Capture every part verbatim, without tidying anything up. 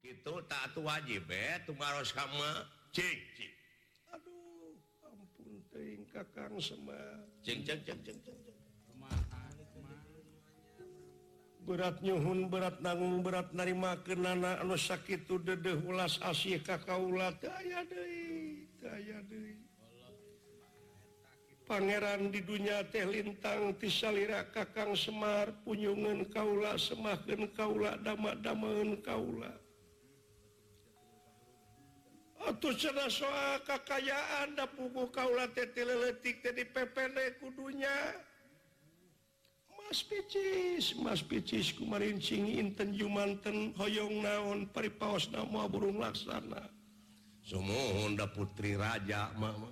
itu tak wajib kamu aduh ampun teuing Kakang Semar berat nyuhun berat nanggung berat narimakeun anak anu sakitu dedeh ulas asih ka kaula teu aya deui teu aya deui Pangeran di dunia teh lintang ti salira Kakang Semar punyungeun kaula semahkeun kaula dama-damaeun kaula atuh cenah soal kakayaan da puguh kaula teh tileutik teh dipepene ku dunya Mas Picis, Mas Picis kumarin cing inten jumanten hoyong naon paripaosna moal burung laksana. Sumuhun da putri raja mama.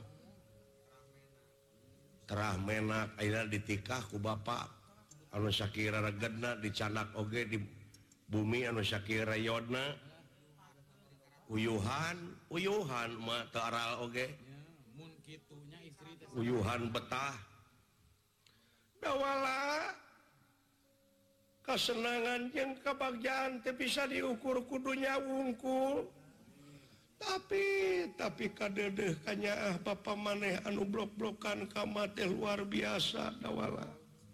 Terah menak ayeuna ditikah ku bapak anu sakira regedna dicanak oge di bumi anu sakira yodna. Uyuhan, uyuhan mah teu aral oge. Mun kitunya istri teh Uyuhan betah. Dawala kesenangan jeung kebahagiaan teh bisa diukur kudunya wungkul tapi tapi kadedeh kanyaah bapa maneh anu blok-blokan ka teh luar biasa dawala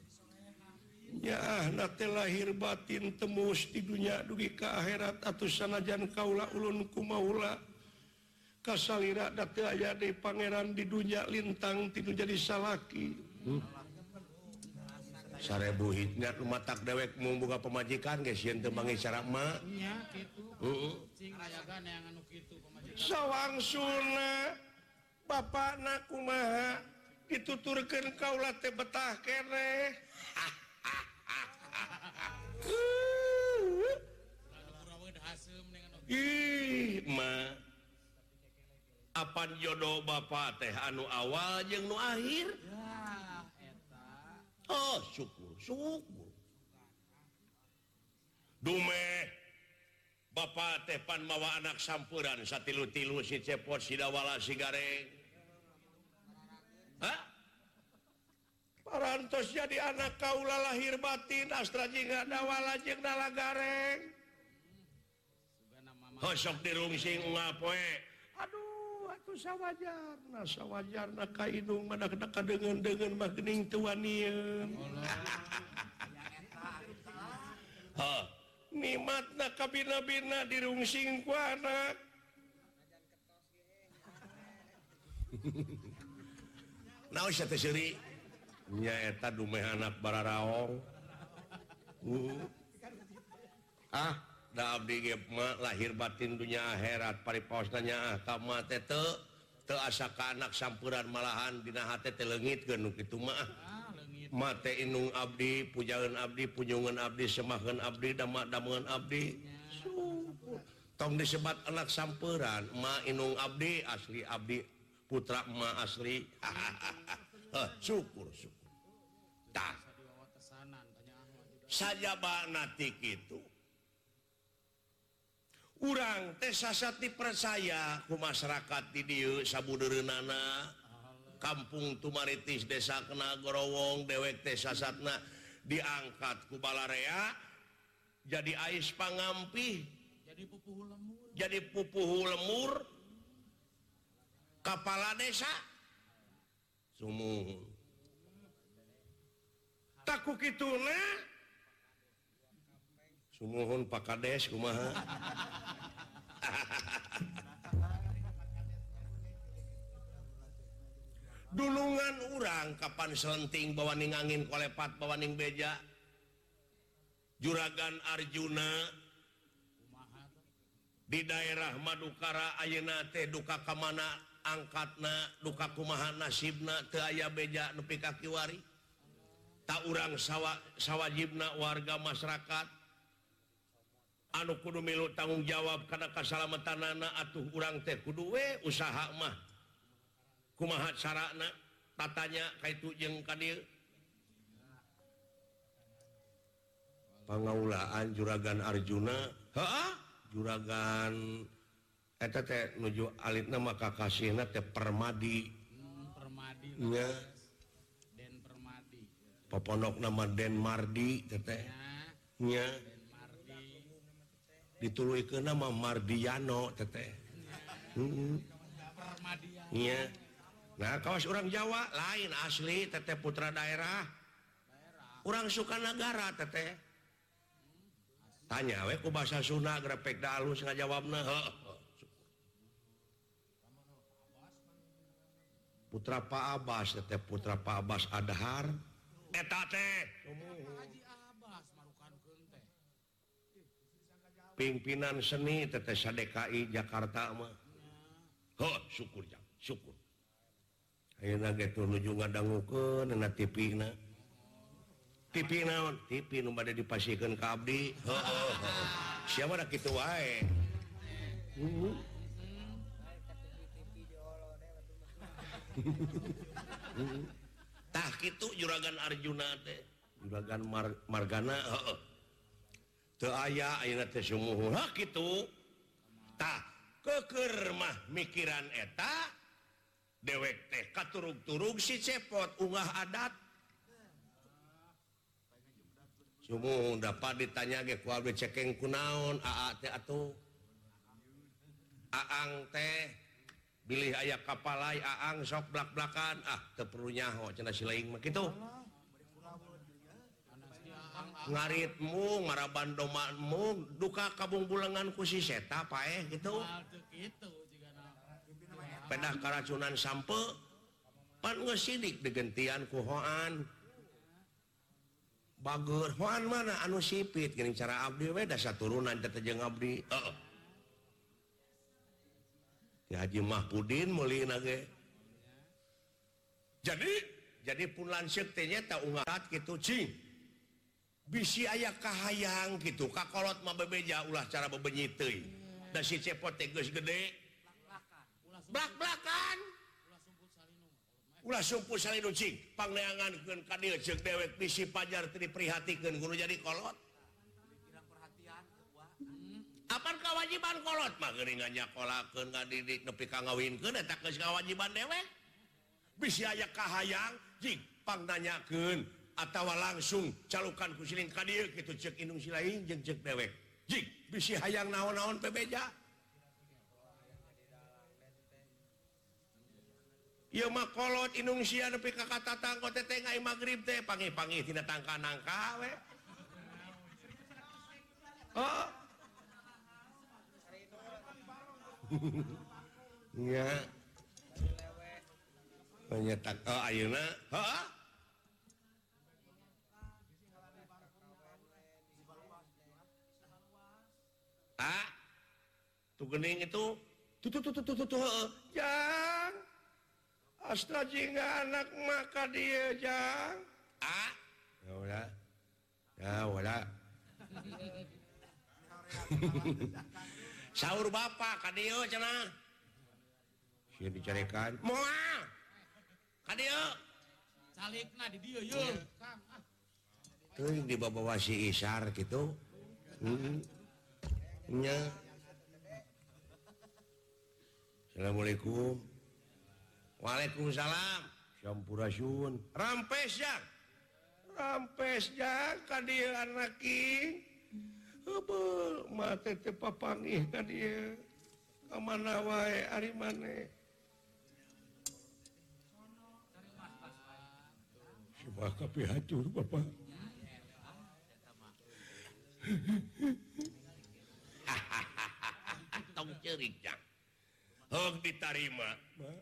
nyaah na teh lahir batin tembus di dunia dugi ka akhirat atuh sanajan kaula ulun kumaula kasalira da teu aya deui pangeran di dunia lintang tinu jadi salaki hmm. Sarebu hitnya rumah tak dewek mau buka pemajikan guys yang tembangi cara ma iya gitu heeh cing rayagan yang anu kitu pemajikan sawangsuna bapakna kumaha dituturkeun kaula teh betah keneh lalu kuraweun haseum dengan ih ma apan jodoh bapak teh anu awal jeung nu akhir ya oh syukur syukur dume bapak teh pan mawa anak sampuran satilu-tilu si cepot si dawala si gareng hah parantos jadi anak kaula lahir batin astra jingga dawala jeung dala gareng hosok dirungsing ngapoe aduh atuh sawajarna sawajarna ka indung mana kena kadeungeun-deungeun mah geuning teu wanieun ha nikmatna ka bina-bina dirungsing ku anak naon sia teh seuri nya eta dumeh anak bararaong uh. ah da abdi ge mah lahir batin dunia akhirat paripaosna nyaah ka mah teh teu teu asa ka anak sampuran malahan dina hate teh leungitkeun nu kitu mah mah teh inung abdi pujaeun abdi punyungeun abdi semahkeun abdi dama-damaeun abdi tong disebat anak sampuran mah inung abdi asli abdi putra mah asli heh syukur syukur tah sajabana ti kitu urang teh sasat dipercaya ku masyarakat di dieu sabudeureunana kampung Tumaritis desa Kena Gorowong dewek teh sasatna diangkat ku balarea jadi ais pangampih jadi pupuh lemur jadi pupuh lemur kepala desa sumuhun taku kituna sumuhun Pak Kades kumaha dulungan urang kapan selenting bawaning angin kolepat bawaning beja juragan Arjuna di daerah Madukara ayeuna teh duka ka mana angkatna duka kumaha nasibna teu aya beja nepi ka kiwari ta urang sawa sawajibna warga masyarakat anu kudu milu tanggung jawab karena kasalamatanana atuh urang teh kudu we usaha mah kumaha carana tatanya kaitu jeung ka dieu pangaulaan juragan Arjuna heeh juragan eta teh nuju alitna mah kakasihna teh Permadi hmm, Permadi nya Den Permadi popondok nama Den Mardi teh nya Den Mardi dituluikeun nama Mardiano teteh. Heeh. Permadian. Iya. Nah, kawas orang Jawa lain asli teteh putra daerah. Orang Sukanagara teteh. Tanya we ku bahasa Sunda grepek da alus ngajawabna. Heuh. Putra Pak Abbas teteh putra Pak Abbas Adhar. Eta teh Haji Abbas marukankeun teh. pimpinan seni teteh D K I Jakarta mah. Heuh, syukur jang, syukur. Ayeuna ge teu nuju ngadangukeun na T V-na. T V naon? T V nu bade dipasiekeun ka abdi. Heuh, heuh. Siapa da kitu wae. Heeh. Tah kitu Juragan Arjuna teh. Juragan Mar Margana heeh. Teu aya ayeuna teh sumuhun. Hah kitu. Tah keukeur mah mikiran eta dewek teh katurug-turug si cepot unggah adat. Sumuhun dapat ditanya ge ku abdi cekeng kunaon aa teh atuh. Aang teh bilih aya kapalai aang sok blak-blakan ah teu perlu nyaho cenah si laing mah kitu. Ngaritmu maraban domanmu duka kabungbulengan ku si seta paeh gitu. Hal teu kitu jigana. Pedah karacunan sampe pan geus sidik digentian ku Hoan. Bager Hoan mana anu sipit geuning cara abdi we da saturunan teh jeung abdi. Heeh. Ti Haji Mahpudin meulina ge. Jadi jadi pun lanceuk teh nya ta ungat kitu cing. Bisi aya kahayang gitu kakolot mah bebeja ulah cara bebenyit teuing da si cepot teh geus gede blak-blakan ulah sumpul salinu cing pangneangankeun ka dieu ceuk dewek bisi pajar teu diprihatikeun kudu jadi kolot apan kewajiban kolot mah geuning nganyakolakeun ngadidik nepi ka ngawinkeun eta geus kewajiban dewek bisi aya kahayang cing pangnanyakeun atawa langsung calukan ku siling ka dieu kitu ceuk indung si lain jeung ceuk dewek. Jing bisi hayang naon-naon bebeja. Ieu mah kolot indung sia nepi ka katatangko teh teh ngai magrib teh pangi-pangi tina tangka-nangka we. Oh. Nya. Nyetak oh ayeuna, heeh. Ah, tuh gening itu, tuh tuh tuh tuh tuh tuh, jang, astaga anak maka dia jang, ah, ya udah, ya udah, sahur bapak kadio cina, sih dicarikan, moal, kadio, Salikna di dieu yeuh, Kang. tuh di bawah si Isar gitu, hmm. Nya. Assalamualaikum. Waalaikumsalam. Sampurasun. Rampes jang. Rampes jang ka dieu anak king. Heubeul mate teh papangih ka dieu. Ka mana wae ari maneh. Coba kapi hancur Bapak. Tong ceurik jang. Heug ditarima.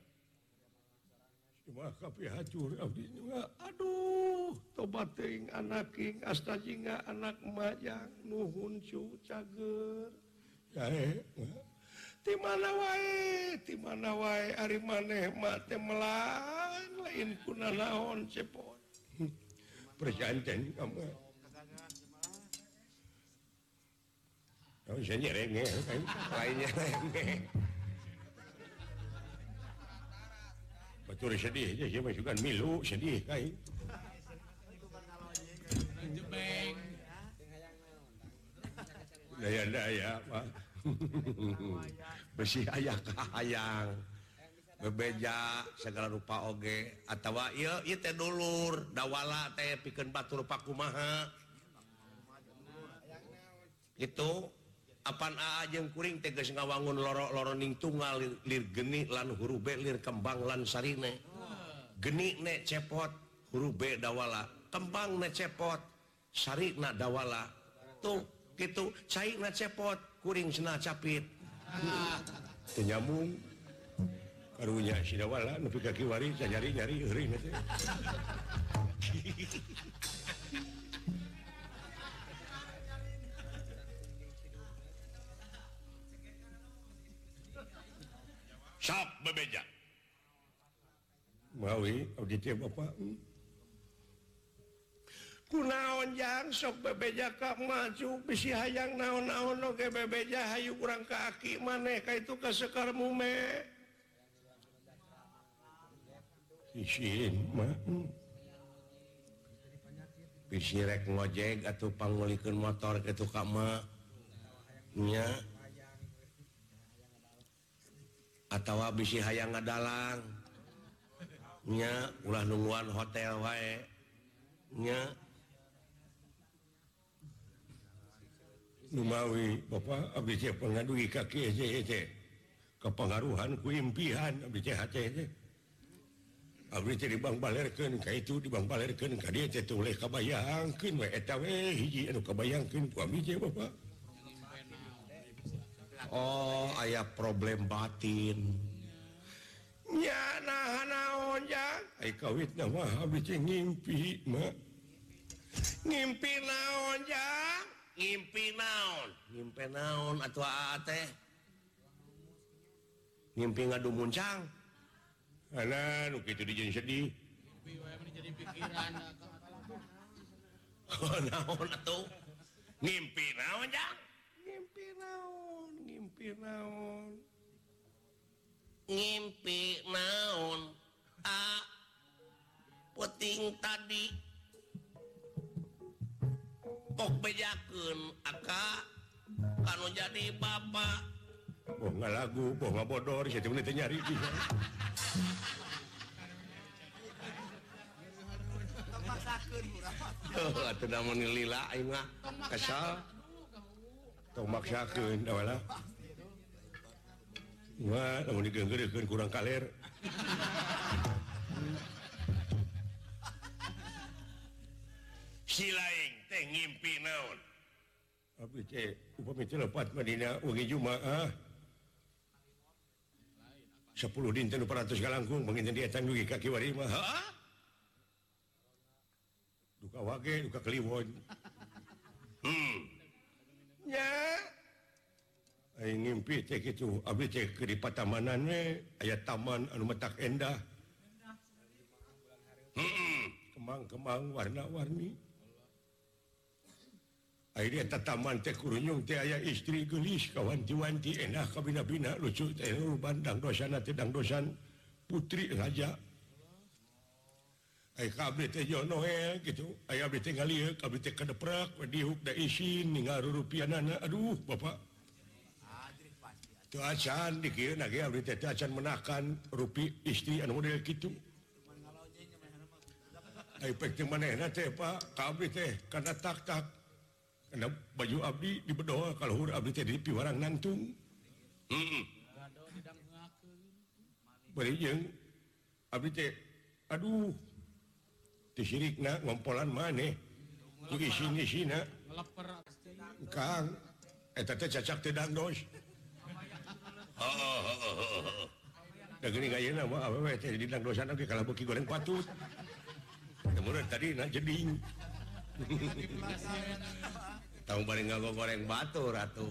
Cuma kapi hancur abdi juga. Aduh, tobat teuing anak king astajinga anak majang nuhun cu cager. Jae. Ti mana wae, ti mana wae ari maneh mah teh melang lain kunanaon cepot. Perjanjian kamu. Oh, saya nyerenge, kan? Lainnya nyerenge. Betul sedih aja, saya masukkan milu sedih, kan? Jebeng. Daya-daya, Pak. Besi ayah kahayang. Bebeja segala rupa oge. Atawa ieu ieu teh dulur, dawala teh pikeun batur pakumaha. Itu apaan ajeng kuring teges ngawangun loro-loroning tunggal lir geni lan huruf B lir kembang lan sarine geni ne cepot huruf B dawala kembang ne cepot sarina dawala tuh gitu cai na cepot kuring cenah capit teu nyambung karunya si dawala nepi ka kiwari nyari-nyari eureun teh sok bebeja mawi abdi teh bapak kunaon jang sok bebeja ka maju bisi hayang naon-naon oge bebeja hayu urang ka aki maneh ka itu ka sekar mume isin mah bisi rek ngojek atuh panggulikeun motor kitu ka mah nya atawa bisi hayang ngadalang nya ulah nungguan hotel wae nya numawi bapak abdi teh pengadugi kaki aja teh kepengaruhan ku impian abdi teh hate teh abdi teh dibang balerkeun ka itu dibang balerkeun ka dieu teh tuluy kabayangkeun we eta we hiji anu kabayangkeun ku abdi teh bapak. Oh aya problem batin nya nah naon jang ai kawitna mah abdi teh ngimpi mah ngimpi naon jang ngimpi naon ngimpi naon atuh aa teh ngimpi ngadu muncang ana nu kitu dijieun sedih ngimpi wae mah jadi pikiran oh naon atuh ngimpi naon jang ngimpi naon ngimpi naon ngimpi naon a puting tadi kok bejakeun aka kanu jadi bapak boh ngalagu boh ngabodor situ menit nyari bisa oh atuh da mun lila aing mah kesal tong maksakeun da wala wah lamun digeunggeurkeun kurang kaler si laing teh ngimpi naon abdi teh upami teh lepat madina wengi Jumaah sepuluh dinten empat ratus galangkung panginten di etang dugi kaki wari mah ha duka wage duka kliwon hmm nya ai ngimpi teh kitu abdi teh ke di patamanan we aya taman anu metak endah heeh kemang-kemang warna-warni akhirnya tataman teh kurunyung teh aya istri geulis kawanti-wanti endah kabina-bina lucu teh bandang dosana teh dang dosan putri raja ai kabeh teh jono we gitu aya abdi teh ngalieu abdi teh kadeprak diuk da isin ningal rupiahna aduh bapak teu acan dikieun ge abdi teh teu acan menakan rupi istri anu model kitu ai pek teh manehna teh pak ka abdi teh kana tak-tak karena baju abdi di bedoa kalau abdi teh di piwarang nantung heeh bari jeung abdi teh aduh teu sirikna ngompolan maneh ku isin-isina ngeleper kang eta teh cacak teh dangdos heeh heeh da geuning ayeuna mah awewe teh di dangdosan oge kalau beuki goreng patut kemudian tadi na jeding tahu bari ngago goreng batur atuh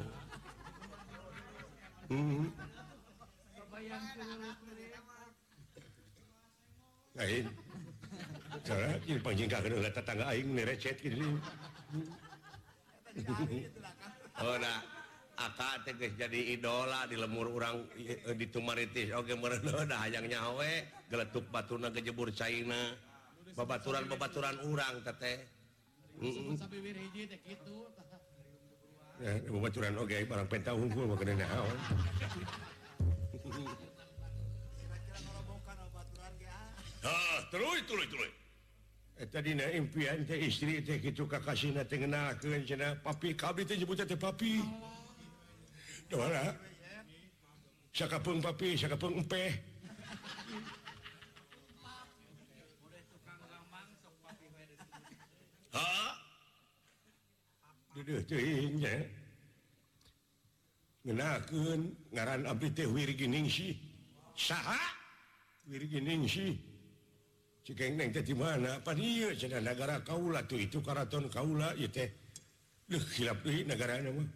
hmm lain cara ieu panjingkakeun heula tetangga aing ni recet kitu oh da aka teh geus jadi idola di lemur urang di Tumaritis oge meureun da hayang nyawe geletuk batuna kejebur caina babaturan-babaturan urang teh heeh sampai wir hiji teh kitu ya babaturan oge barang penta unggul mah kena naon ah tuluy tuluy tuluy eta dina impian teh istri teh kitu kakasihna teh ngenalkeun cenah papi kabeh teh nyebutna teh papi Dawala. Sakapung papi, sakapung empeh. Ha? Duduh teuing nya. Ngenakeun ngaran abdi teh Wirginingsih. Saha? Wirginingsih. Cikeng neng teh di mana? Apa dieu cenah negara kaula tuh itu karaton kaula ieu teh. Duh hilap deui negarana mah.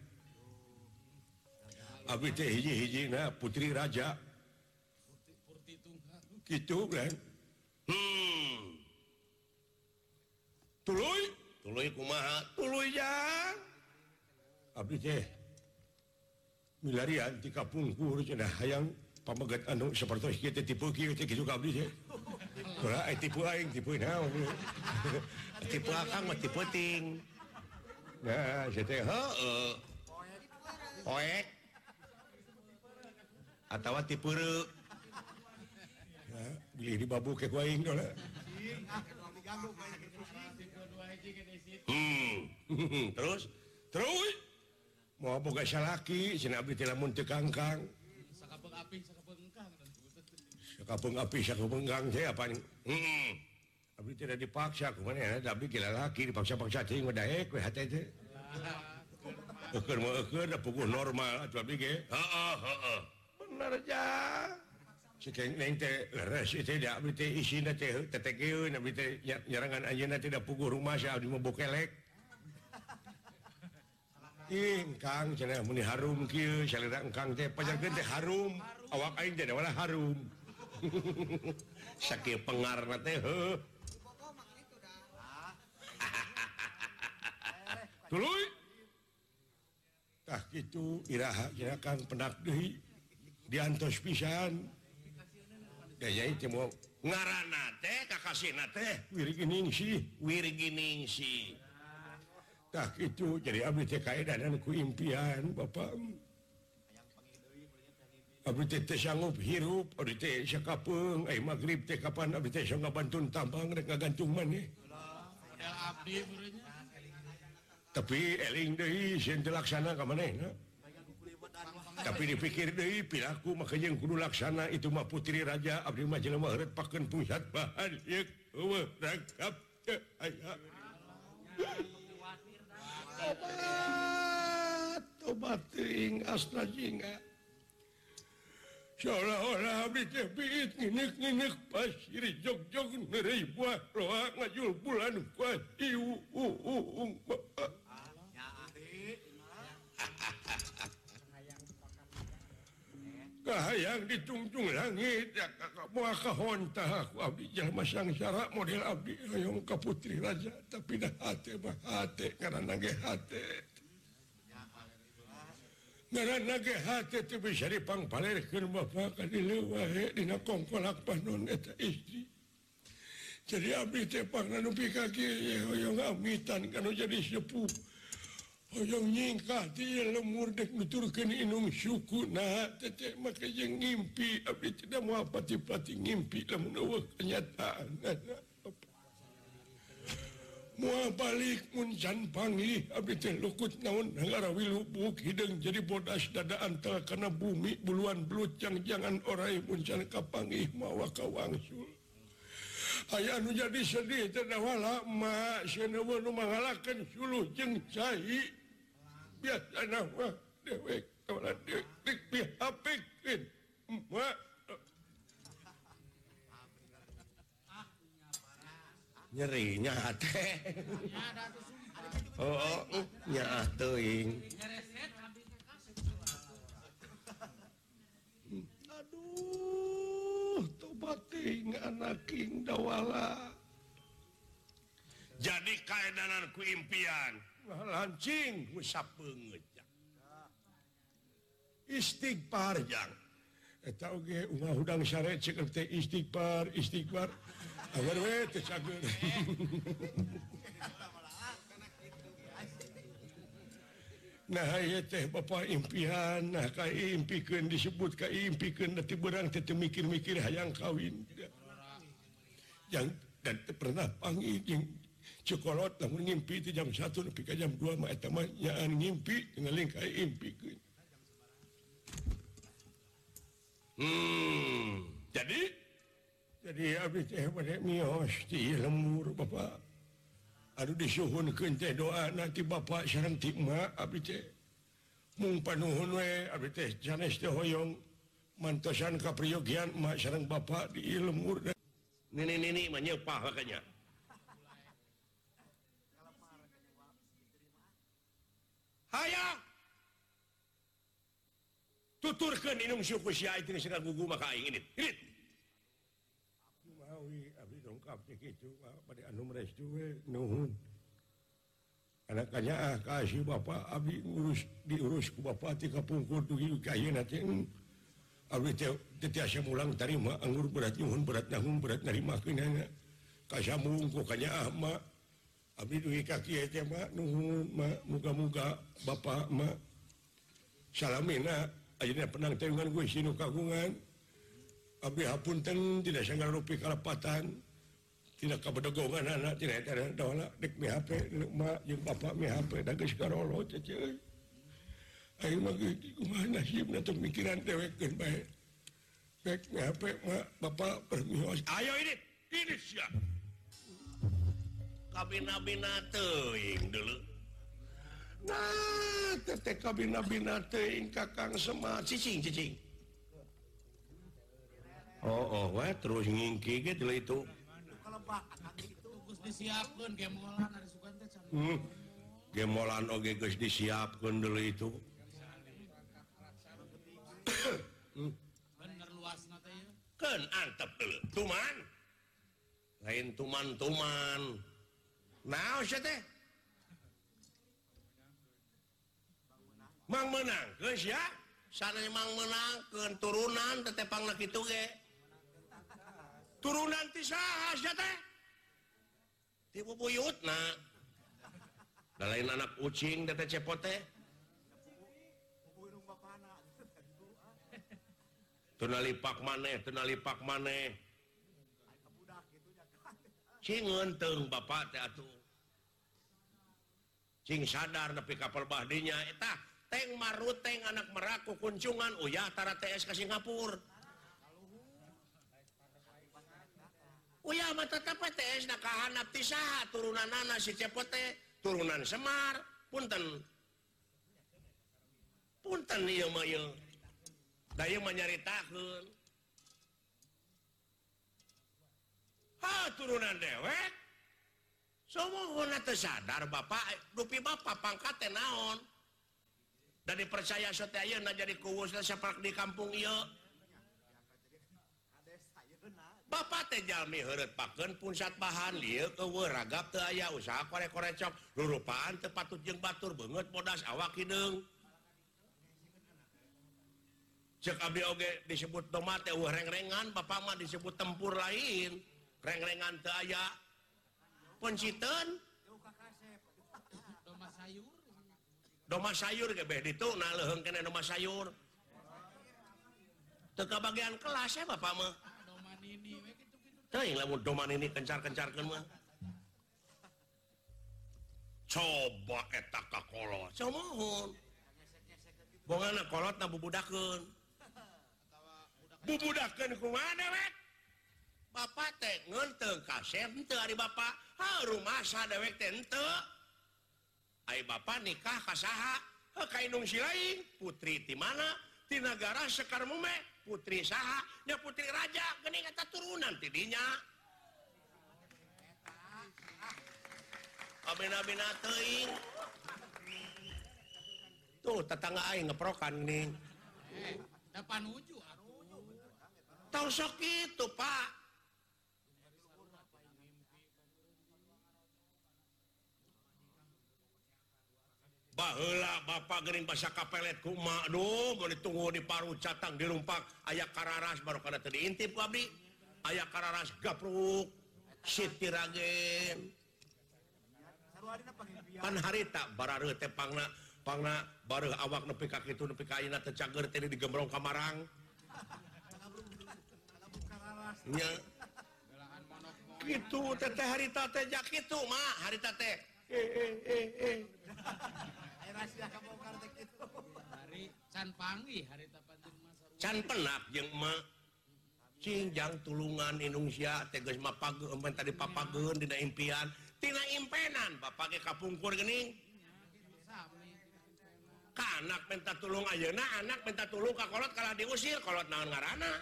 Abdi teh hiji-hijina putri raja. Kitu kan. Hmm. Tuluy, Tuluy kumaha? tuluy jang. Abdi teh milarian ti kapungkur cenah hayang pamagat anu sapertos kieu teh tipe kieu teh kitu ka abdi teh. Ulah ai tipe aing tipe naon. Tipe akang mah tipe ting. Nah, saya teh Heeh. Poek. Atawa tipe reu. beli di babu ke ku aing lah. Hmm. Terus Terus mau boga salaki cenah abdi teh lamun teu kangkang. Sakapeng api, sakapeng engkang. Sakapung api sakapung gang teh apa hmm. abdi tidak dipaksa kumaha abdi gila laki dipaksa-paksa teh mah daek we hate teh. Eukeur mah eukeur da puguh normal atuh abdi ge. Heeh, heeh. Bener jang. Cikeng neng teh leres teh da abdi teh isina teh tetegeun abdi teh nyarangan anjeunna teh da puguh rumah sa abdi mah bokelek. Ingkang cenah muni harum kieu salira engkang teh pajarkeun teh harum awak aing teh da harum. Sakieu pengarna teh heuh. Tuluy. Tah kitu iraha cenah Kang pendak deui diantos pisan. Daya itu mau ngaranna teh kakasihna teh Wirginingsih. Wirginingsih. Tah kitu jadi abdi teh kaedanan ku impian Bapak. Abdi teh teu sanggup hirup, abdi teh sakapeung, ai magrib teh kapan abdi teh sanggup bantun tambang rek ngagantung maneh. Model abdi meureunnya. Tapi eling deui sieun teu laksana ka manehna. Tapi dipikir deui pilaku maka jeung kudu laksana itu mah putri raja abdi mah jelema heureut pakeun pusat bahan yeuk eueuh rangkap aya. Tobat, tobat ting asna jinga. Seolah-olah abdi teh biit ngineuk-ngineuk pasir jog-jog neureuy buah loa ngajul bulan kuat iu uung. Kahayang ditungtung langit ya kakak moal kahontah aku abdi jalma sangsara model abdi hoyong ka putri raja tapi dah hate mah hate ngaranna ge hate. Ngaranna ge hate teu bisa dipangpalerkeun Bapak ka dieu wae dina kongkolak panon eta istri. Jadi abdi teh pangna nepi ka kieu hoyong amitan kanu jadi sepuh. Hoyong nyingkah dia lemur dek nuturkeun inung suku nah teteh maka jeung ngimpi abdi tidak mau pati-pati ngimpi lamun eueuh kenyataan. Moal balik mun can panggih abdi teh lukut naon ngarawi lubuk hideung jadi bodas dada antel kana bumi buluan belut jangan orai mun can kapanggih mawa ka wangsul. Aya anu jadi sedih teh dawala mak cenah nu mangalakeun suluh jeung cai. Biasana mah dewek kawalan dewek dihapikeun mak. Nyerinya teh. Oh, nya teuing. Aduh, tobat ting anak king dawala. Jadi kaedanan ku impian. Lancing Musa beungeut. istighfar jang. Eta oge ungah hudang syare ceuk teh istighfar, istighfar. Agar we teh cageun. Nah ieu teh Bapa impian, nah ka impikeun disebut ka impikeun da beurang teh teu mikir-mikir hayang kawin. Yang dan teu pernah panggih jeung Cikolot lamun ngimpi itu jam satu nepi ka jam dua mah eta mah nyaan ngimpi ngeling ka impikeun. Hmm, jadi jadi abdi teh bade mios di lembur Bapak. Aduh disuhunkeun teh doa nanti Bapak sareng ti emak abdi teh. Mung panuhun we abdi teh sanes teh hoyong mantosan kapriyogian emak sareng Bapak di lembur. nini-nini mah nyeupah makanya. Hayang tuturkeun inung suku sia itu sing gugu maka aing ini. Ini. Mawi abdi dongkap teh kitu bade anu restu we nuhun. Anaknya ah kasih Bapak abdi ngurus diurus ku Bapak ti kapungkur dugi ka ayeuna teh. Abdi teh tiasa mulang tarima anggur berat nyuhun berat nanggung berat narimakeun nya. Kasambung ku kanya ah mak. Abdi dugi ka kieu teh mak nuhun mak muga-muga Bapak mak salamina ayeuna penang teh ngan Gusti nu kagungan. Abdi hapunten tidak sanggal rupi kalapatan. Tidak kabedogongan anak tidak ada dola dek mi H P mak jeung Bapak mi H P da geus karolo teh ceuy. Ayo mah kumaha nasibna teu mikiran dewekeun bae. Dek mi H P mak Bapak permios. Ayo ini, ini sia. Kabina-bina teuing deuleu. Nah, teh kabina-bina teuing Kakang Semar Cicing, cicing. Oh, oh, weh terus ngingki gitu itu. Terus disiapkan gemolan ada sukan teh can. Hmm. Gemolan oge geus disiapkeun deuleu itu. Hmm. Bener luasna teh ya. Keun antep deuleu. Tuman. Lain tuman-tuman. Naon sia teh? Mang menang geus ya. Sana mang menangkeun turunan tetepangna kitu ge. Turunan ti saha sia teh? Ti bubuyutna. Da lain anak ucing teh cepot teh. Teu nalipak maneh, teu nalipak maneh. Cing ngeunteung Bapak teh atuh. Cing sadar nepi ka perbahdinya eta teng maruteng anak meraku kuncungan uyah tara T S ka Singapura. Uyah mah tetep T S na kahanap ti saha turunanana si cepot teh turunan Semar. Punten. Punten ieu mah ieu. Da ieu mah nyaritakeun. Ha turunan dewek. Somohona teu sadar Bapak, dupi Bapak pangkat teh naon. Da dipercaya sote ayeuna jadi kuwusna sapak di kampung ieu. Bapak teh jalmi heureut pakeun punsat bahan lieu eueuh ragap teu aya usaha korek-korecok rurupaan teu patut jeung batur beungeut bodas awak hideung. Cek abdi oge disebut tomat teh eueuh reng-rengan Bapak mah disebut tempur lain. Reng-rengan teu aya. Penciteun Doma sayur. doma sayur ge beh ditu na leuheung keneh doma sayur. Teu kabagian kelas ya Bapak mah. Doma nini we kitu-kitu. Teuing lamun doma nini kencar-kencarkeun mah. Coba eta kakolot. Samohon. Bongana kolotna bubudakeun. Bubudakeun kumaha dewek? Bapak teh ngeunteung kasep henteu ari Bapak. Ha rumasa dewek teh henteu. Ai Bapak nikah ka saha? Heuh ka indung si lain. Putri ti mana? Ti nagara Sekar Mume. Putri saha? Nya putri raja. Geuning eta turunan ti dinya. Abena-bena teuing. Tuh tetangga aing ngeprokan ning. Eh, depan uju atuh. Tau sok kitu, Pak. Baheula Bapak geuning basa kapelet ku emak duh mun ditunggu di paru catang dilumpak aya kararas baru kana teu diintip ku abdi. Aya kararas gapruk Siti Ragen. Pan harita barareu teh pangna pangna bareuh awak nepi ka kitu nepi ka ayeuna teh cager teh digembrong ka marang. Nya kitu teh teh harita teh jak kitu mah harita teh. Eh eh eh eh. Hari can panggih hari tapantin masa can penak jeung emak cingjang tulungan Indonesia tegas mah pageun tadi papageun dina impian tina impenan bapak ge kapungkur geuning ka anak minta tulung ayeuna anak minta tulung ka kolot kalah diusir kolot naon ngaranna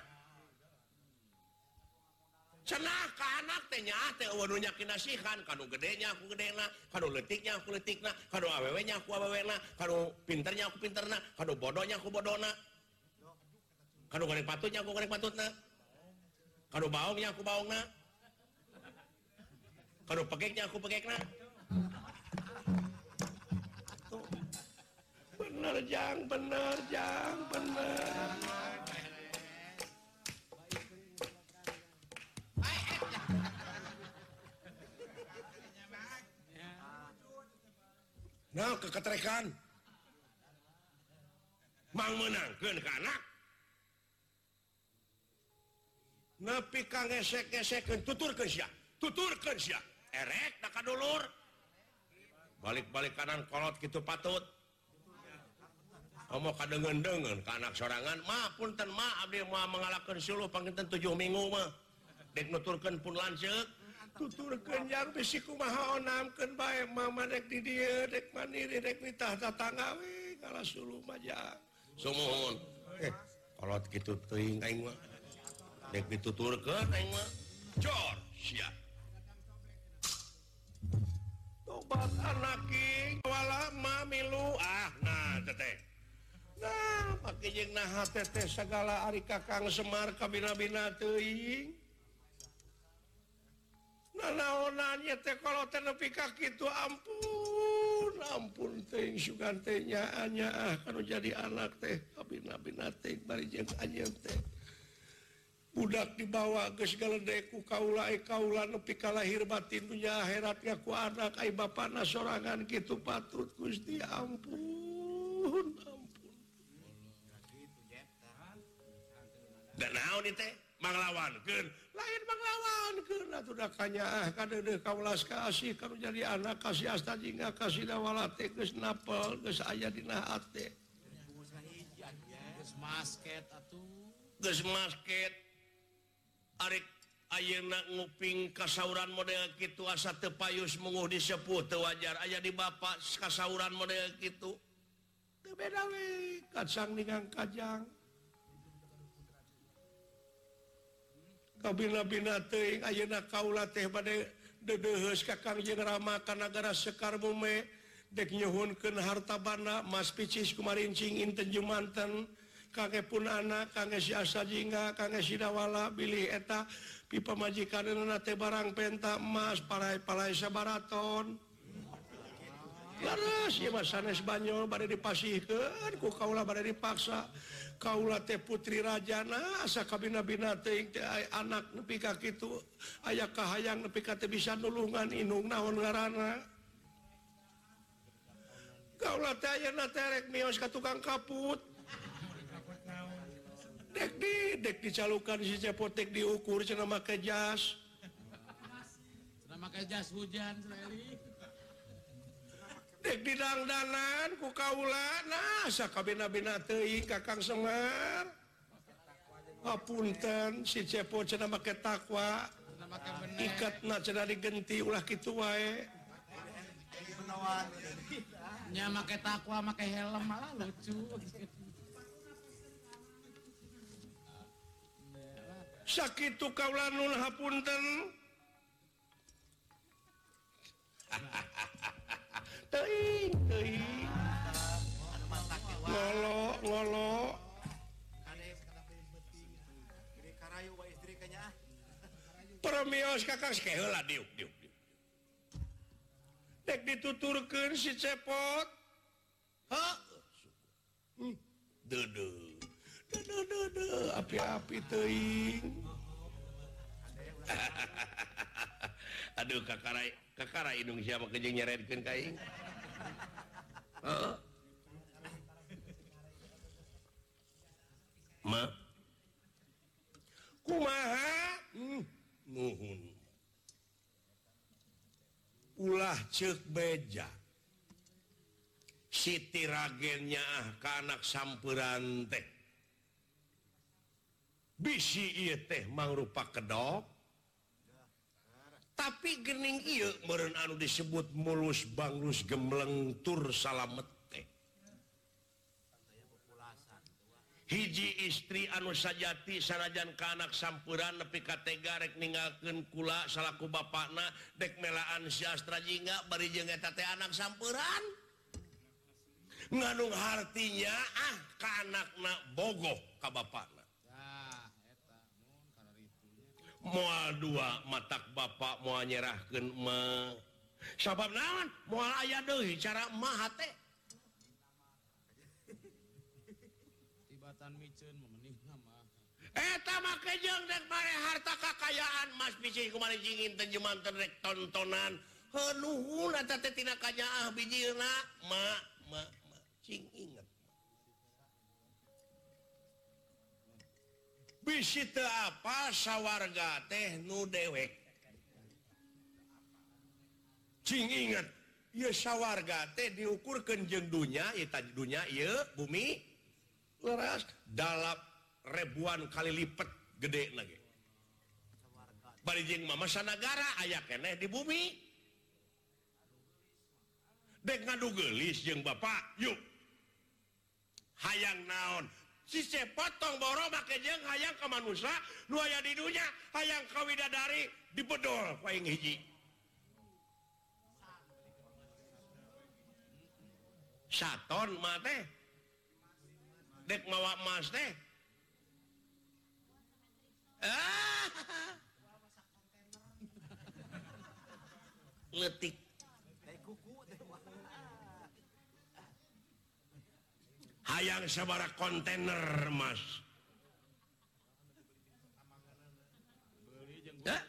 cenah ka anak teh nyaah teh eueuh nu nyakin nasihan kanu gedenya aku gedena kanu leutiknya aku leutikna kanu awewenya aku awewena kanu pinternya aku pinterna kanu bodohnya aku bodona kanu goreng patutnya aku goreng patutna kanu baongnya aku baongna kanu pegeknya aku pegekna bener jang bener jang bener nah keketrekan mang menangkeun ka anak nepi ka ngesek-ngesekeun tuturkeun sia tuturkeun sia erek da kadulur balik-balik kanan kolot kitu patut omong kadengeun-dengeun ka anak sorangan mah punten mah abdi moal mangalakeun suluh panginten tujuh minggu mah dek nuturkeun pun lanceuk tuturkeun yang bisi kumaha onamkeun bae mama dek di dieu dek mandiri dek nitah tatangga we ngalah suluh mah jang sumuhun eh kolot kitu teuing aing mah dek dituturkeun aing mah cor sia tobat anak king wala mamilu ah nah teteh nah make jeung naha teh sagala ari Kakang Semar kabina-bina teuing nah naonannya teh kalau teh nepi ka kitu ampun ampun teuing sugan teh nyaanya ah kanu jadi anak teh kabina-bina teh bari jeung anjeun teh budak dibawa geus galedek ku kaula ai kaula nepi ka lahir batin dunya akhirat ku anak ai bapana sorangan kitu patut Gusti ampun ampun dan naon ieu teh manglawankeun lain manglawankeun atuh da kanyaah kadeudeuh kaulas kasih kanu jadi anak kasih asta jingga kasih dawala teh geus napel geus aya dina hate Geus masket atuh. geus masket arek ayeuna nguping kasauran model kitu asa teu payus munguh disepuh teu wajar aya di bapa kasauran model kitu teu beda we kacang ningang kajang kabina-bina teuing ayeuna kaula teh bade dedeuheus Kakang jeung Rama ka nagara Sekar Mume dek nyuhunkeun harta bana Mas Picis kumarincing inten jumanten kangge pun anak kangge si asa jingga kangge si dawala bilih eta pipa majikanna teh barang penta emas parai-parai sabaraton laras ieu mah sanes banyol bade dipasihkeun ku kaula bade dipaksa kaula teh putri rajana asa kabina-bina teuing teh anak nepi ka kitu aya kahayang nepi ka teh bisa nulungan indung naon ngaranna kaula teh ayeuna teh rek mios ka tukang kaput dek di dek dicalukan si cepotek diukur cenah make jas Cenah make jas hujan Sreli. dek didangdanan ku kaula nah sakabina-bina teuing Kakang Semar hapunten si cepot cenah make takwa Cenah make bener. ikatna cenah digenti ulah kitu wae Nya make takwa make helm malah lucu. sakitu kaula nun hapunten teuing teuing ngolo ngolo permios Kakang Oke heula diuk diuk diuk. dek dituturkeun si cepot Ha? Hmm. Deudeut. Duh, duh, duh, api-api teuing Aduh kakara kakara indung sia mah kejeung nyeredkeun ka aing. Heeh. Ma kumaha hmm, nuhun. ulah ceuk beja Siti ragennya ah ka anak sampeuran teh. bisi ieu teh mangrupa kedok tapi gening ieu meureun anu disebut mulus banglus gembleng tur salamet teh hiji istri anu sajati sanajan ka anak sampuran nepi ka tega rek ninggalkeun kula salaku bapakna dek melaan si Astra jingga bari jeung eta teh anak sampuran ngandung hartinya ah ka anakna bogoh ka bapakna moal dua matak bapak moal nyerahkeun mah sabab naon moal aya deui cara mah teh tibatan miceun memenihna mah eta make jeung dek bare harta kakayaan mas bisi kumaha jingin teh jumanten rek tontonan heunuhun eta teh tina kanyaah bijilna mak mak mak cing inget bisi teu apa sawarga teh nu dewek cing inget ieu sawarga teh diukurkeun jeung dunya ieu tadi dunya ieu bumi leras dalap ribuan kali lipat gedena ge bari jeung mama sanagara aya keneh di bumi dek ngadu geulis jeung bapak yuk hayang naon si potong boro make jeung hayang ka manusia nu aya di dunya hayang ka widadari dibedol paing hiji saton mah teh dek mawa emas teh ah letik hayang sabaraha kontainer emas ya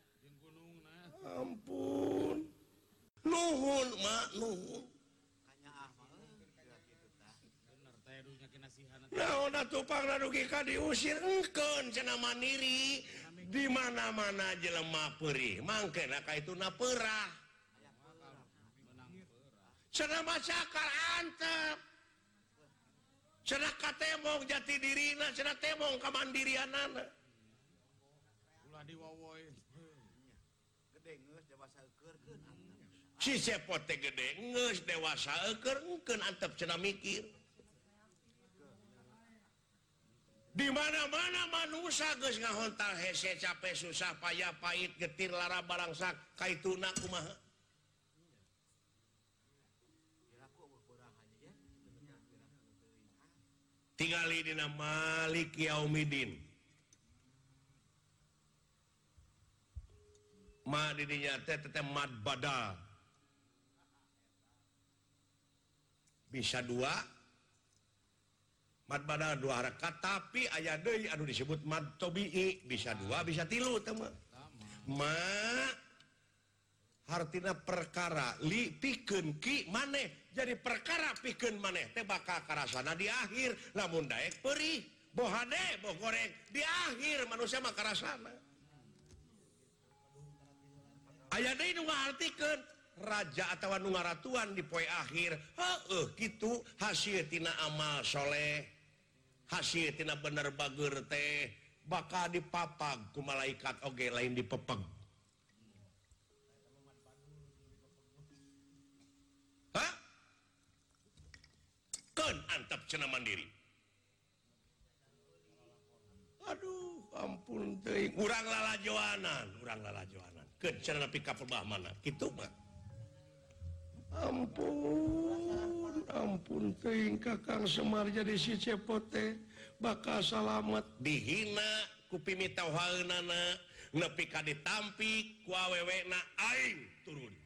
ampun nuhun mak nuhun naon atuh pangna dugi ka diusir engkeun cenah mandiri di mana-mana jelema peurih mangkena kaituna peurah cenah macakar antep cenah katemong jati dirina cenah temong kamandirianana ulah diwowoy gede geus dewasa eukeurkeun si cepot teh gede geus dewasa eukeurkeun antep cenah mikir di mana-mana manusia geus ngahontal hese capek susah payah pahit getir lara barangsak kaituna kumaha tingali dina Malik Yaumidin ma didinya teh teh mad badal bisa dua mad badal dua harakat tapi aya deui anu disebut mad tabi'i bisa dua bisa tilu teh mah ma hartina perkara li pikeun ki maneh jadi perkara pikeun maneh teh bakal karasana di akhir lamun daek peurih boh hade boh goreng di akhir manusia mah karasana aya deui nu ngaartikeun raja atawa nu ngaratuan di poe akhir heueuh kitu hasil tina amal soleh hasil tina bener bageur teh bakal dipapag ku malaikat oge lain dipepeg hah keun antep cenah mandiri aduh ampun teuing urang lalajoanan urang lalajoanan keun cenah nepi ka perbah mana kitu mah ampun ampun teuing Kakang Semar jadi si cepot teh bakal salamet dihina ku pimitauhaeunana nepi ka ditampi ku awewena aing turun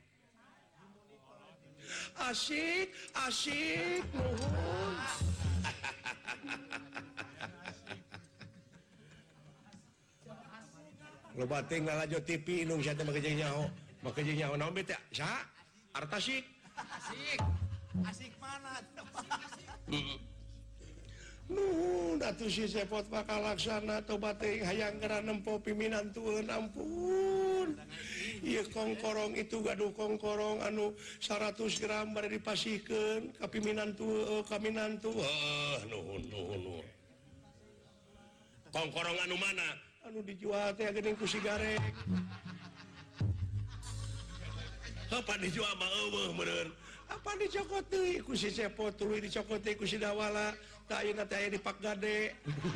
asik asik nuhun loba teh ngalajo T V inung sia teh make jeung nyaho make jeung nyaho naon bete saha artasik asik asik mana nuhun atuh si cepot bakal laksana tobat teh hayang geura nempo piminantueun ampun ieu kongkorong itu gaduh kongkorong anu seratus gram bari dipasihkeun ka piminantu ka minantu heuh nuhun nuhun nuhun Kongkorong anu mana? Anu dijual teh geuning ku sigarek. Apa dijual mah eueuh bener. Apa dicokot deui ku si Cepot, tuluy dicokot deui ku si Dawala. Tah ayeuna teh aya di Pak Gade.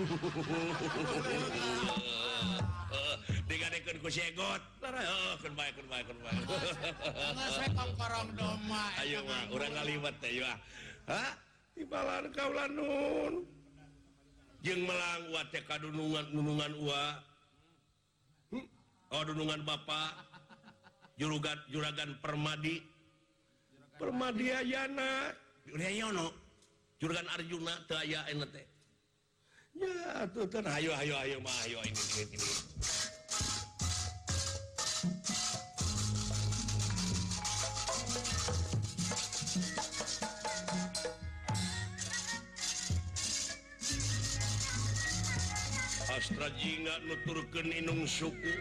Heeh, digadekeun ku si Egot. Heeh, keun bae keun bae keun bae. Geus we kongkorong doma. Ayo mah urang ngaliwat teh ya. Hah? Timbalan kaula nun. Jeung melang ua teh kadunungan nunungan ua. Hmm? Oh dunungan Bapak. Juragan Juragan Permadi. Permadi ayana. Urang Juragan Arjuna teu aya ena teh. Ya atuh teh Ayo ayo ayo mah ayo ini ini ini. Astra jingga nuturkeun inung suku.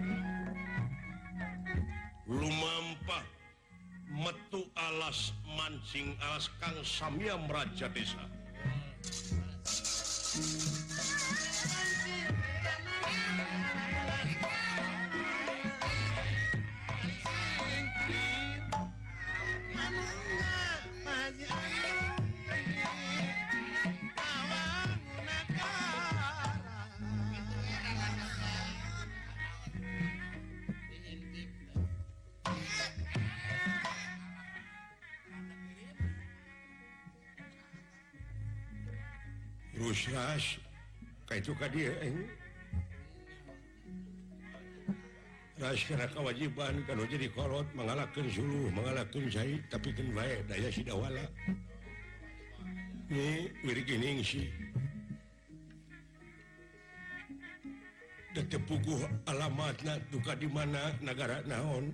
Lumampah metu alas mancing alas Kang Samyam Raja Desa. Rusras kayak itu ka dia eh. Ras kana kewajiban kana jadi kolot mengalahkan suluh mengalahkan Syahid tapi kan bae daya si Dawala ni wiri geuning si da teu puguh alamatna duka di mana negara naon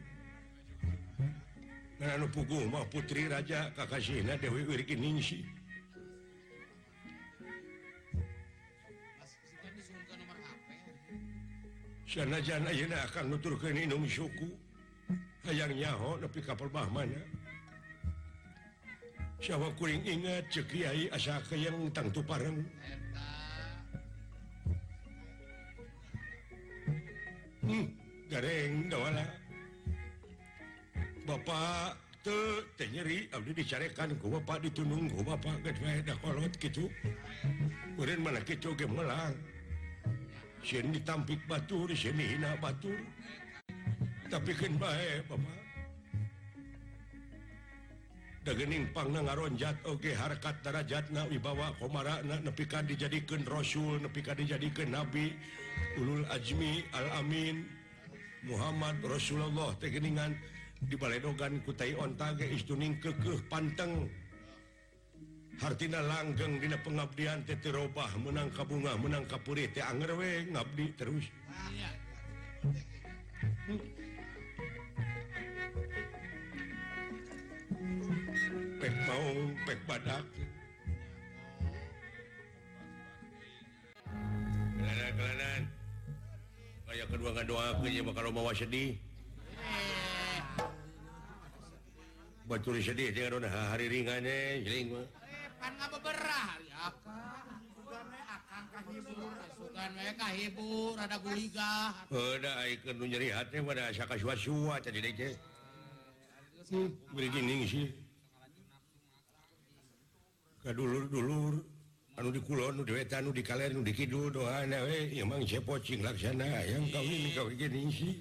ngan anu puguh mah putri raja kakasihna Dewi wiri geuning si sanajan ayeuna akan nuturkeun inung suku hayang nyaho nepi ka perbah mana sawa kuring ingat ceuk kiai asa kayang tang tupareng hmm gareng Dawala Bapak teu teh nyeri abdi dicarekan ku Bapak ditunung ku Bapak geus bae da kolot kitu urang mana kitu ge melang sieun ditampik batur, sieun dihina batur. Tapi kan bae, Bapak. Da geuning pangna ngaronjat oge harkat darajatna wibawa komarana nepi ka dijadikeun rasul, nepi ka dijadikeun nabi, ulul azmi al amin Muhammad Rasulullah teh geuningan dibaledogan ku tai onta ge istuning keukeuh panteng. Hartina langgeng dina pengabdian teh teu robah menang ka bunga menang ka peurit teh anger we ngabdi terus. Pek maung pek badak. Kelanan-kelanan. Aya kedua ngadoakeun nya bakal mawa sedih. Batur sedih teh ngadoa hari ringannya jeung mah. Kan ngabeberah ya kan. Sugan we akang kahibur, sugan we kahibur, ada guligah. Heuda ayekeun nu nyeri hate pada asa kasua-sua tadi deui teh. Hmm, beri geuning sih. Kadulur-dulur anu di kulon, nu di wetan, nu di kaler, nu di kidul doana we ieu mah Cepot cing laksana yang kawin kawin geuning sih.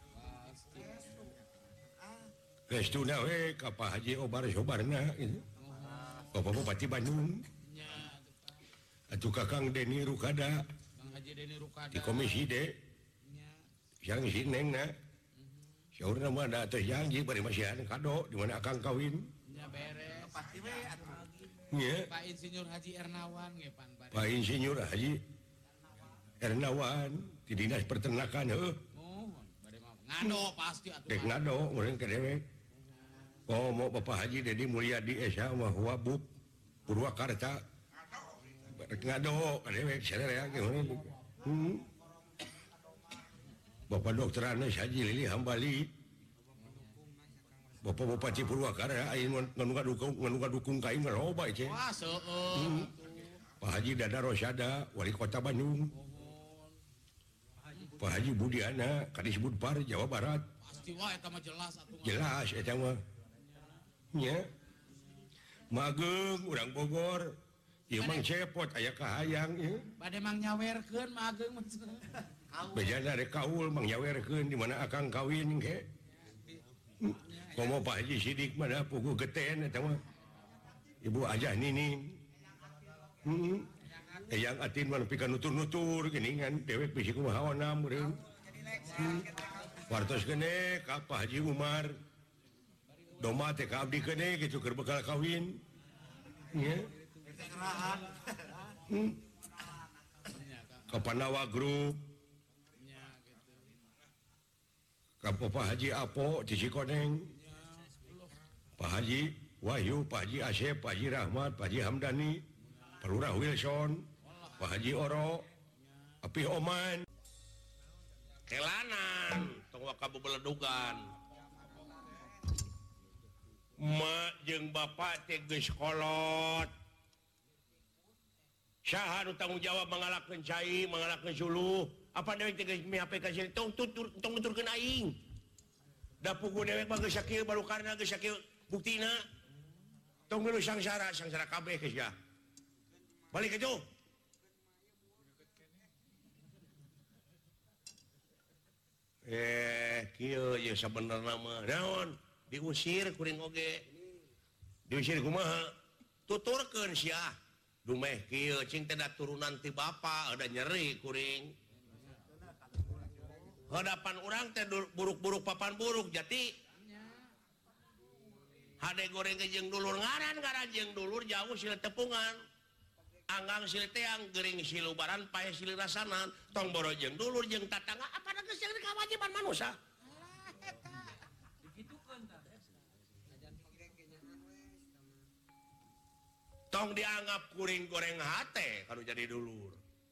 Restuna we ka Pak Haji Obar Sobarna gitu. Bapak Bupati Bandung. Atuh Kakang Deni Rukada. Kang Haji Deni Rukada. Di Komisi D. Yang si Nengna. Saurna mah da teh janji bari masihan kado di mana akang kawin. Nya beres. Pasti we atuh. Nya. Pak Insinyur Haji Ernawan ge pan bari. Pak Insinyur Haji Ernawan di Dinas Peternakan heuh. Oh, bari mah ngado pasti atuh. Dek ngado urang ke dewek. Oh mau Bapak Haji Dedi Mulyadi Esa mah Wabub Purwakarta. Ngado ka dewek sadaya ge hmm. Bapak Dokter Anes Haji Lili Hambali. Bapak Bupati Purwakarta ayeuna nganu ngadukung nganu ngadukung ka aing loba ce. Wah, seueur. Pak Haji Dada Rosada Wali Kota Bandung. Pak Haji Budiana Kadis Budpar Jawa Barat pasti wae eta mah jelas atuh jelas eta mah nya mageng urang Bogor ieu mang cepot aya kahayang ieu bade mang nyawerkeun mageng maksudna bejana rek kaul mang nyawerkeun di mana akang kawin ge komo Pak Haji Sidik mana pugu geten eta mah Ibu Ajah Nining heeh yang atin mah pika nutur-nutur geuningan dewek bisi kumaha na meureun wartos kene ka Pak Haji Umar doma teh ka abdi kene kitu keur bekal kawin nya hmm. Ka Panawa Group ka Pak Haji Apo di Cikoneng Pak Haji Wahyu Pak Haji Asep Pak Haji Rahmat Pak Haji Hamdani Pak Lurah Wilson Pak Haji Oro Apih Oman kelanan tong wakabu beledugan mak jeung bapak teh geus kolot saha nu tanggung jawab mangalakeun cai mangalakeun suluh apa dewek teh geus mihap ka sini tong tutur tong nuturkeun aing da pugu dewek mah geus sakieu baru karna geus sakieu buktina tong milu sangsara sangsara kabeh geus ya balik itu eh kieu ye sabenerna mah naon diusir kuring oge diusir kumaha tuturkeun sia dumeh kieu cing teh da turunan ti bapa ada nyeri kuring hadapan urang teh buruk-buruk papan buruk jati hade goreng ke jeung dulur ngaran ngaran jeung dulur jauh sila tepungan anggang sila teang gering silubaran pae sila rasanan tong boro jeung dulur jeung tatangga apa na geus jadi kewajiban manusia tong dianggap kuring goreng hate kalau jadi dulur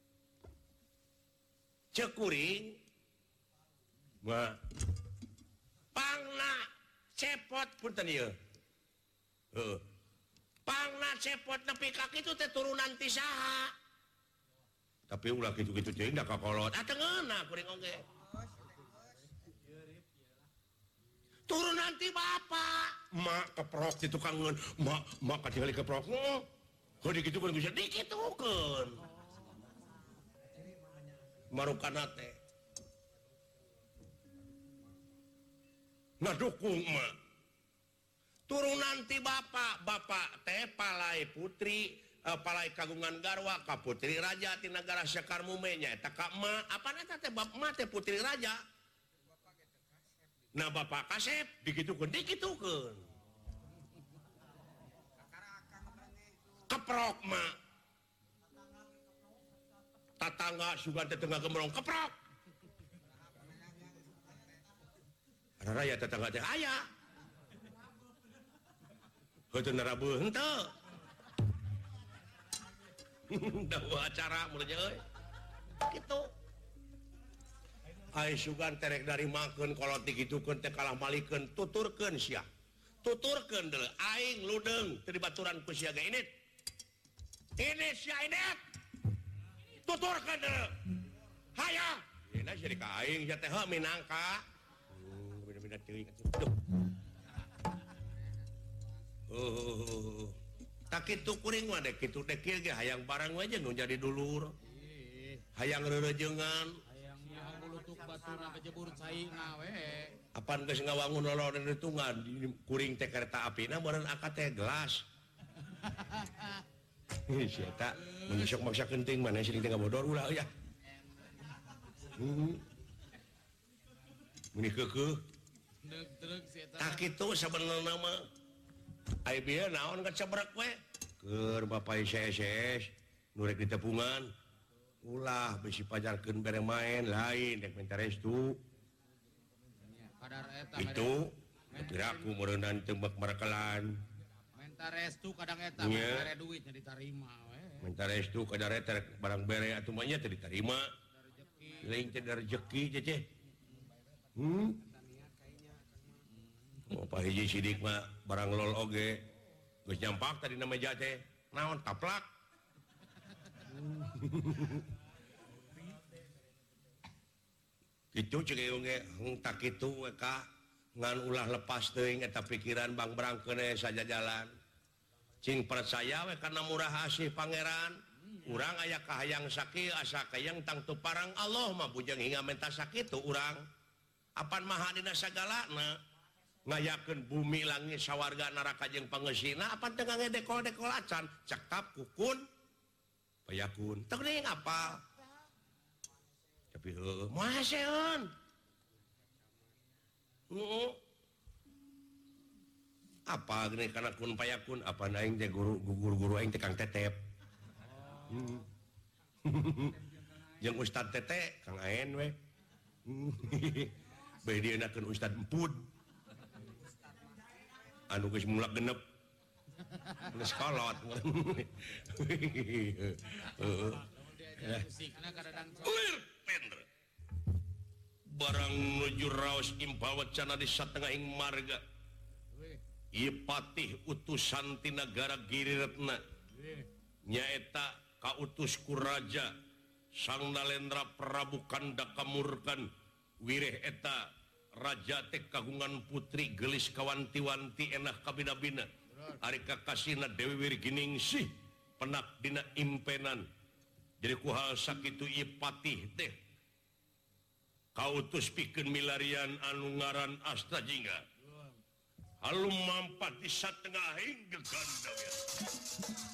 cek kuring mah pangna cepot punten ieu heeh pangna cepot nepi ka kitu teh turunan ti saha tapi ulah kitu-kitu teh da kakolot atuh ngeuna kuring oge turunan ti bapa mak keprok ti tukang ngeun mak mak katingali keprok oh heuh dikitukeun bisa dikitukeun marukana teh ngadukung mak turunan ti bapa bapa teh palai putri uh, palai kagungan garwa ka putri raja ti nagara Sakarmume nya eta ka emak apana eta teh bapa emak teh putri raja nah bapak kasep dikitukeun dikitukeun keprok mak tatangga sugan teh tengah gembrong keprok ada raya tetangga teh aya heuteun narabeuh henteu dawa acara mulai euy kitu ai sugan terek dari makeun kolot digitukeun teh kalah malikeun tuturkeun sia tuturkeun deuleu aing ludeung teu dibaturan ku sia ge init ini sia init tuturkeun deuleu hayang dina jadi ka aing sia teh heuh minangka beda-beda teuing atuh oh tak kitu kuring mah dek kitu dek kieu ge hayang barang we jeung nu jadi dulur hayang reurejeungan baturna kejebur caina we apan geus ngawangun loloreun ditungan kuring teh kereta apina meureun akad teh gelas sia eta mun sok maksa kenting mana sing teh ngabodor ulah ya heeh mun keukeuh deug-deug si eta tak kitu sabenerna mah ai bieu naon kecebrek we keur bapak S S S nu rek ditepungan ulah bisi pajarkeun bere main lain dek minta restu kadar eta itu piraku meureunnan tembak marakelan minta restu kadang eta bere duit nya ditarima we minta restu kadar eta barang bere atuh mah nya teu ditarima lain teh rezeki cece hmm oh Pak Hiji Sidik mah barang lol oge geus nyampak tadi na meja teh naon taplak gitu tak itu ngan ulah lepas eta pikiran Bang Brangkene saja jalan cing percaya we karena murah asih pangeran urang aya kahayang sakit asa kayang tangtu parang Allah mah bujang hingga menta sakit tuh urang apan maha dina sagalana ngayakeun bumi langit sawarga neraka jeung pangeusina apan teu ngedekol-dekol acan cekap kukun payakun teu geuning apa tapi heueuh moal seun heeh apa gini kana kun payakun apa aing teh guru guru-guru aing teh Kang Tetep jeung Ustad Tete Kang Aen we bae dienakeun Ustad Empud anu geus mulak genep geus kolot heeh barang nuju raos impawat cana di satengahing marga ieu patih utusan ti nagara Giriretna nyaeta kautus ku raja Sang Nalendra Prabu Kanda Kamurkan wireh eta raja teh kagungan putri gelis kawanti-wanti enah kabina-bina ari kakasina Dewi Wirginingsih penak dina impenan jadi kuhal sakitu ieu patih teh kautus pikeun milarian anu ngaran Astajingga halum mampat di satengahing geganda